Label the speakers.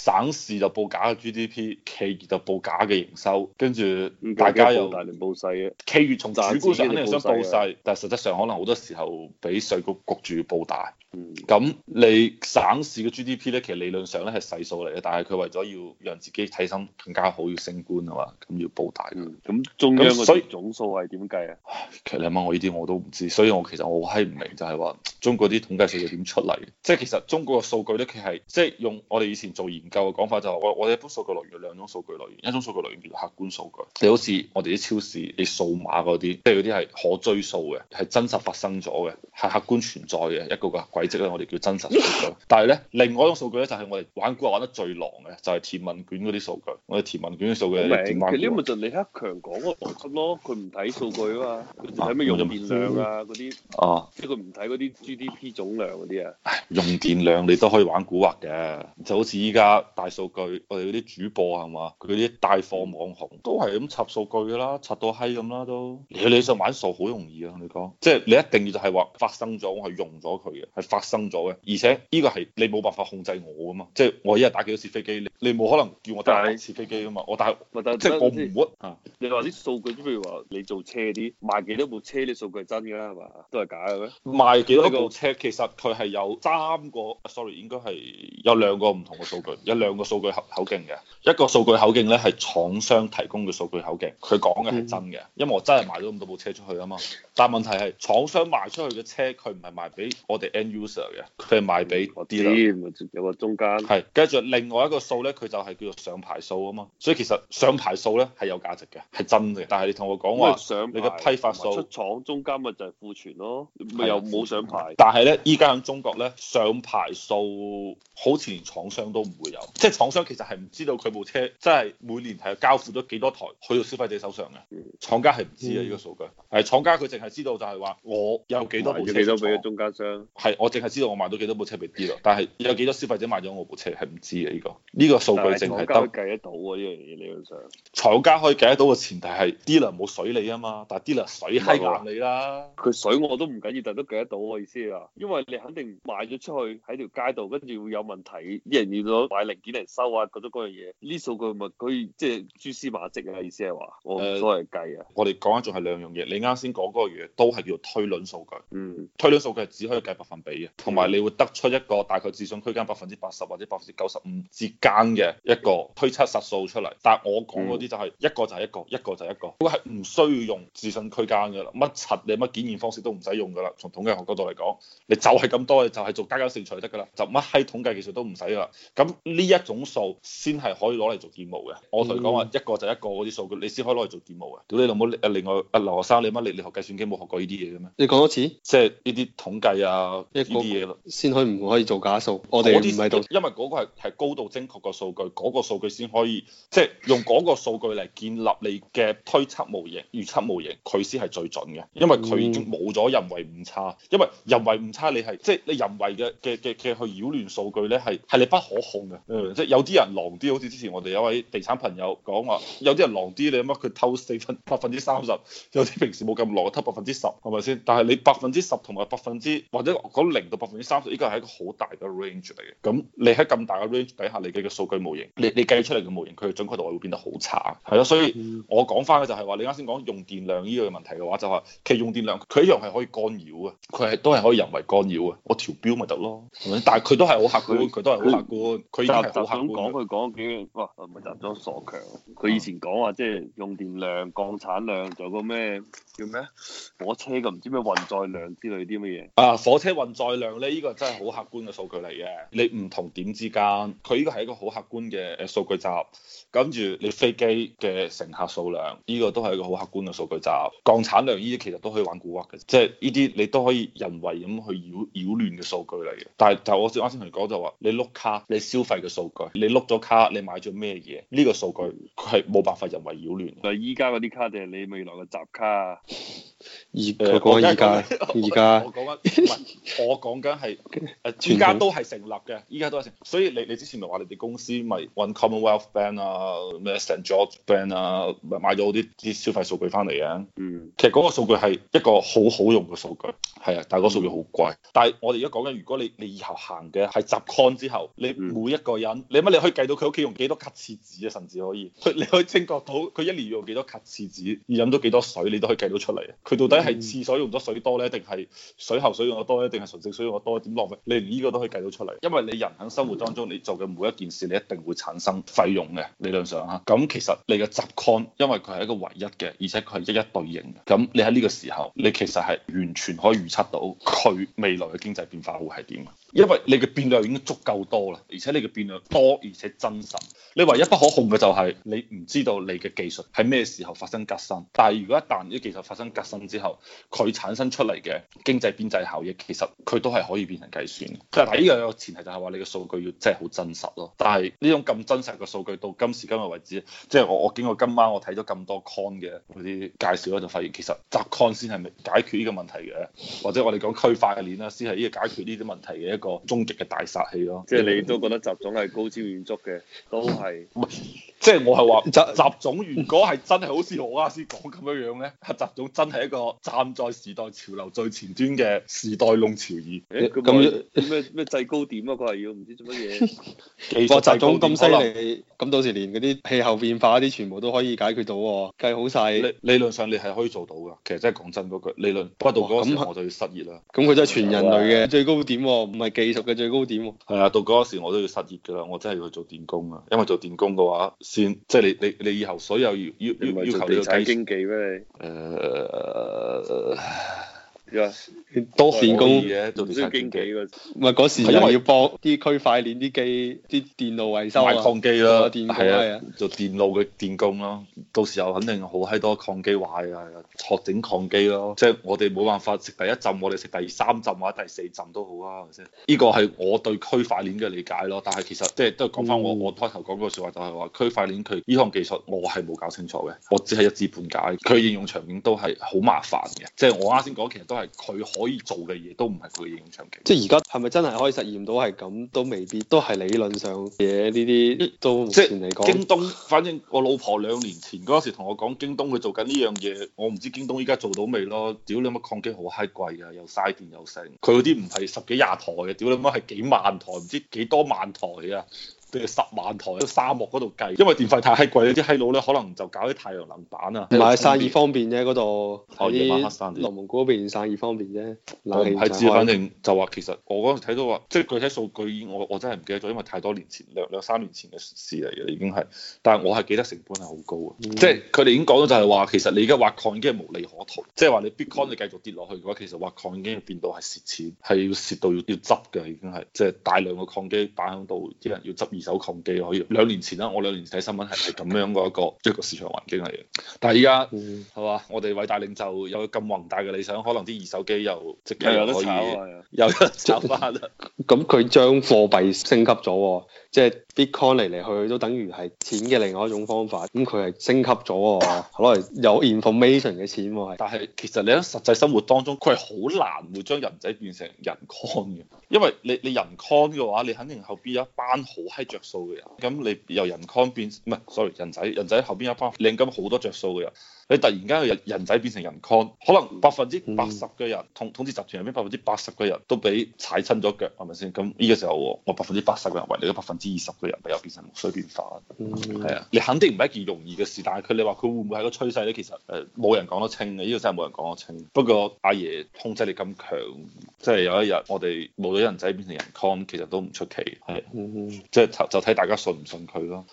Speaker 1: 省市就報假嘅 GDP，企業就報假嘅營收，跟住大家又
Speaker 2: 報大定報細嘅，
Speaker 1: 企業從主觀上肯定係想報
Speaker 2: 賺
Speaker 1: 細，但係實質上可能好多時候俾稅局焗住要報大。
Speaker 2: 嗯，
Speaker 1: 咁你省市嘅 GDP 咧，其實理論上咧係細數嚟嘅，但係佢為咗要讓自己睇身更加好，要升官啊嘛，咁要報大。
Speaker 2: 咁中央
Speaker 1: 咁所以
Speaker 2: 嗰總數係點計啊？
Speaker 1: 其實你問我呢啲我都唔知，所以我其實我閪唔明就係話中國啲統計數據點出嚟嘅？即係其實中國嘅數據咧，佢係即係用我哋以前做研究嘅講法就係我哋一般數據來源有兩種數據來源，一種數據來源叫做客觀數據，你好似我哋啲超市你數碼嗰啲，即係嗰啲係可追溯嘅，係真實發生咗嘅，係客觀存在嘅一個個軌跡咧，我哋叫真實數據。但係咧，另外一種數據咧就係我哋玩股玩得最狼嘅，就係填問卷嗰啲數據。我哋填問卷嘅數據
Speaker 2: 明，
Speaker 1: 點玩股？
Speaker 2: 其實呢個咪就李克強講嗰個邏輯咯，佢唔睇數據啊嘛，佢睇咩用電量啊嗰啲，即係佢唔睇嗰啲 GDP 總量嗰啲啊。
Speaker 1: 用電量你都可以玩蠱惑嘅，就好似依家大數據，我哋嗰啲主播係嘛，佢啲帶貨網紅都係咁插數據㗎啦，插到閪咁啦都。你想玩數好容易啊，你講，即係你一定要就係話發生咗，我係用咗佢嘅，係發生咗嘅，而且呢個係你冇辦法控制我㗎嘛，即係我一日打幾多次飛機，你冇可能叫我打幾次飛機㗎嘛，我打即係我唔會啊。
Speaker 2: 你話啲數據，譬如話你做車啲賣幾多部車啲數據係真㗎係嘛？都係假嘅咩？
Speaker 1: 賣幾多部車其實佢係有sorry 應該係有兩個唔同嘅數據，有兩個數據口徑嘅。一個數據口徑咧係廠商提供嘅數據口徑，佢講嘅係真嘅，因為我真係賣咗咁多部車出去啊嘛。但係問題係廠商賣出去嘅車，佢唔係賣俾我哋 end user 嘅，佢係賣俾啲啦。
Speaker 2: 有個中間。
Speaker 1: 係，跟住另外一個數咧，佢就係叫做上牌數啊嘛。所以其實上牌數咧係有價值嘅，係真嘅。但係你同我講話，你嘅批發數
Speaker 2: 出廠中間咪就係庫存咯，咪又冇上牌。
Speaker 1: 但係咧，依家喺中國咧，上牌數好似連廠商都唔會有，即係廠商其實係唔知道佢部車真係每年係交付咗幾多台去到消費者手上嘅，廠家係唔知嘅呢個數據。係廠家佢淨係知道就係話我有幾多部車，
Speaker 2: 幾多俾中間商。
Speaker 1: 係我淨係知道我賣到幾多部車俾啲咯，但係有幾多消費者買咗我部車係唔知嘅呢個數據淨係得
Speaker 2: 計得到啊呢樣嘢理論上。
Speaker 1: 廠家可以計得到嘅前提係 dealer 冇水你啊嘛，但係 dealer 水閪硬你啦。
Speaker 2: 佢水我都唔緊要，但都計得到我意思啊，因為你肯定賣咗出去喺條街度，跟住會有問題，啲人要攞買零件嚟收啊，嗰種嗰樣嘢，呢數據咪可以即係蛛絲馬跡啊，意思係話我唔所謂計啊。
Speaker 1: 我哋講緊仲係兩樣嘢，你啱先講嗰個嘢都係叫做推論數據。推論數據係只可以計百分比嘅，同埋你會得出一個大概自信區間80%或者95%之間嘅一個推測實數出嚟。但係我講嗰啲就係一個就係一個，一個就係一個，嗰個係唔需要用自信區間㗎啦，乜柒你乜檢驗方式都唔使用㗎啦。從統計學角度嚟講，你就係咁多，你就係做加減乘除就得㗎啦，就乜閪統計技術都唔使㗎啦。咁呢一種數先係可以攞嚟做建模嘅。我同你講話一個就一個嗰啲數據，你先可以攞嚟做建模嘅。屌你老母！另外劉學生，你乜你學計算機冇學過呢啲嘢嘅咩？
Speaker 3: 你講多次，
Speaker 1: 即係呢啲統計啊，呢啲嘢咯，
Speaker 3: 先唔可以做假數。我哋唔係度，
Speaker 1: 因為嗰個係高度精確嘅數據，嗰個數據先可以即係用嗰個數據嚟建立你嘅推測模型、預測模型，佢先係最準嘅。因為佢已經冇咗人為誤差，因為人為誤差你係即係你人為嘅去擾亂數據咧，係你不可控嘅。即係有啲人狼啲，好似之前我哋有位地產朋友講話，有啲人狼啲，你乜佢偷30%，有啲平時冇咁狼偷10%，係咪先？但係你10%同埋或者講0到30%，呢個係一個好大嘅 range 嚟嘅。咁你喺咁大嘅 range 底下，你嘅數據模型，你計出嚟嘅模型，佢嘅準確度係會變得好差。係咯，所以我講翻嘅就係話，你啱先講用電量呢個問題嘅話，就係其實用電量佢一樣係可以干擾嘅，佢係都係可以人為干擾嘅。我調標咪得咯，係咪？但係佢都係好客觀，佢都係好客觀，佢已經係好客觀。
Speaker 2: 講佢講幾句，哇！咪集咗傻強。佢以前講話即係用電量、鋼產量，仲有個咩叫咩火車嘅唔知咩運載量之類啲乜嘢。
Speaker 1: 啊，火車運載量咧，呢個真係好客觀嘅數據嚟嘅。你唔同點之間，佢呢個係一個好客觀嘅數據集。跟住你飛機嘅乘客數量，呢個都係一個好客觀嘅數據集。鋼產量呢啲其實都可以玩蠱惑嘅，即係呢啲你都可以人為咁去擾亂嘅數據嚟嘅。但係就我啱先同你講就話，你碌卡你消費嘅數據，你碌咗卡你買咗咩嘢，呢個數據佢係冇辦法人為擾亂。
Speaker 2: 但係依家嗰啲卡卡定係你未來嘅集卡啊？
Speaker 3: 佢講緊而家，
Speaker 1: 我講緊唔係，我講緊係依家都係成立嘅，依家都係成立。所以你之前咪話你哋公司咪揾 Commonwealth Bank 啊、咩 St George Bank 啊，咪買咗啲消費數據翻嚟嘅。其實嗰個數據係一個好好用嘅數據，係啊，但係嗰個數據好貴。但係我哋而家講緊，如果你以後行嘅係集 con 之後，你每一個人，你乜你可以計到佢屋企用幾多卡廁紙啊，甚至可以，你可以精確到佢一年要用幾多卡廁紙，而飲咗幾多水，你都可以計到出嚟。佢到底係廁所用咗水多咧，定係水喉水用得多咧，定係純淨水用得多？點浪費？你連呢個都可以計到出嚟。因為你人喺生活當中，你做嘅每一件事，你一定會產生費用嘅。理論上嚇，咁其實你嘅集 con，因為佢係一個唯一嘅，而且佢係一一對應嘅。咁你喺呢個時候，你其實係完全可以預測到佢未來嘅經濟變化會係點。因為你嘅變量已經足夠多啦，而且你嘅變量多而且真實。你唯一不可控嘅就係你唔知道你嘅技術喺咩時候發生革新。但係如果一旦啲技術發生革新之後，佢產生出嚟嘅經濟邊際效益，其實佢都係可以變成計算嘅。但係呢個有個前提就係話你嘅數據要真係好真實咯。但係呢種咁真實嘅數據到今時今日為止，即係我經過今晚我睇咗咁多 con 嘅嗰啲介紹咧，就發現其實集 con 先係解決呢個問題嘅，或者我哋講區塊鏈啦，先係呢個解決呢啲問題嘅一個終極嘅大殺器咯。
Speaker 2: 即係你都覺得習總係高瞻遠矚嘅，都係
Speaker 1: 唔係？即係我係話習總如果係真係好似我啱先講咁樣樣咧，習總真係一個站在時代潮流最前端嘅時代弄潮兒。
Speaker 2: 咁咩制高點啊？佢係要唔知做乜嘢？
Speaker 3: 哇！習總咁犀利，咁到時連嗰啲氣候變化啲全部都可以解決到喎，計好晒。
Speaker 1: 理論上你係可以做到㗎。其實真係講真嗰句，理論不過到嗰時我就要失業啦。
Speaker 3: 咁佢真係全人類嘅最高點喎，唔係技術嘅最高點喎。
Speaker 1: 係啊，到嗰時我都要失業㗎啦，我真係要去做電工啊，因為做電工嘅話先即係你以後所有要求
Speaker 2: 地產經紀咩？
Speaker 3: 多電工
Speaker 1: 嘅做地產經紀
Speaker 2: 嘅，
Speaker 3: 唔係嗰時又要幫啲區塊鏈啲機啲電路維修啊，
Speaker 1: 買礦機啦，
Speaker 3: 係啊，
Speaker 1: 做電路嘅電工咯。到時候肯定好閪多礦機壞啊，學整礦機咯。即係我哋冇辦法食第一浸，我哋食第三浸或者第四浸都好啊，係咪先？呢個係我對區塊鏈嘅理解咯。但係其實即係都係講翻我開頭講嗰句説話，就係話區塊鏈佢呢項技術我係冇搞清楚嘅，我只係一知半解。佢應用場景都係好麻煩嘅，即係我啱先講其實都係佢可以做嘅嘢，都唔係佢嘅應用場景。
Speaker 3: 即係而家係咪真係可以實驗到係咁？都未必，都係理論上嘢呢啲都目前嚟講。
Speaker 1: 京東，反正我老婆2年前嗰時同我講，京東佢做緊呢樣嘢，我唔知京東依家做到未咯。屌你乜礦機好閪貴啊，又嘥電又剩。佢嗰啲唔係10幾20台嘅，屌你乜係幾萬台，唔知幾多萬台啊！定係10萬台喺沙漠嗰度計，因為電費太閪貴，啲閪佬咧可能就搞啲太陽能板啊。
Speaker 3: 唔係散熱方便啫，嗰度
Speaker 1: 夜晚黑散熱。
Speaker 3: 內蒙古嗰邊散熱方便啫。
Speaker 1: 我唔係知，反正就話其實我嗰陣睇到話，即係具體數據我真係唔記得咗，因為太多年前兩三年前嘅事嚟嘅已經係。但係我係記得成本係好高嘅，即係佢哋已經講咗就係話，其實你而家挖礦已經係無利可圖，即係話你 Bitcoin 你繼續跌落去嘅話，其實挖礦已經變到係蝕錢，係要蝕到要執嘅已經係，即係大量嘅礦機擺喺度，啲人要執二手礦機可以。2年前啦，我2年前睇新聞係咁樣嘅一個市場環境嚟嘅。但係依家係嘛，我哋偉大領袖有咁宏大嘅理想，可能啲二手機又即刻可以有得炒翻啦。
Speaker 3: 咁佢將貨幣升級咗，即係 Bitcoin 嚟嚟去都等於係錢嘅另外一種方法。咁佢係升級咗，攞嚟有 information 嘅錢喎。
Speaker 1: 但係其實你喺實際生活當中，佢係好難會將人仔變成人 con 嘅，因為你人 con 嘅話，你肯定後邊有一班好閪着數嘅人。咁你由人 con 變唔係 sorry 人仔後邊有一班領金好多着數嘅人。你突然間人仔變成人 con，可能80%嘅人統治集團入邊80%嘅人都俾踩親咗腳，係咪先？咁呢個時候我80%嘅人為你嘅20%嘅人咪又變成木水變化。係啊，你肯定唔係一件容易嘅事，但係你話佢會唔會係個趨勢咧？其實冇人講得清嘅，呢個真係冇人講得清。不過阿爺控制力咁強，即係有一日我哋冇咗人仔變成人 con，其實都唔出奇。係，即係就睇大家信唔信佢咯。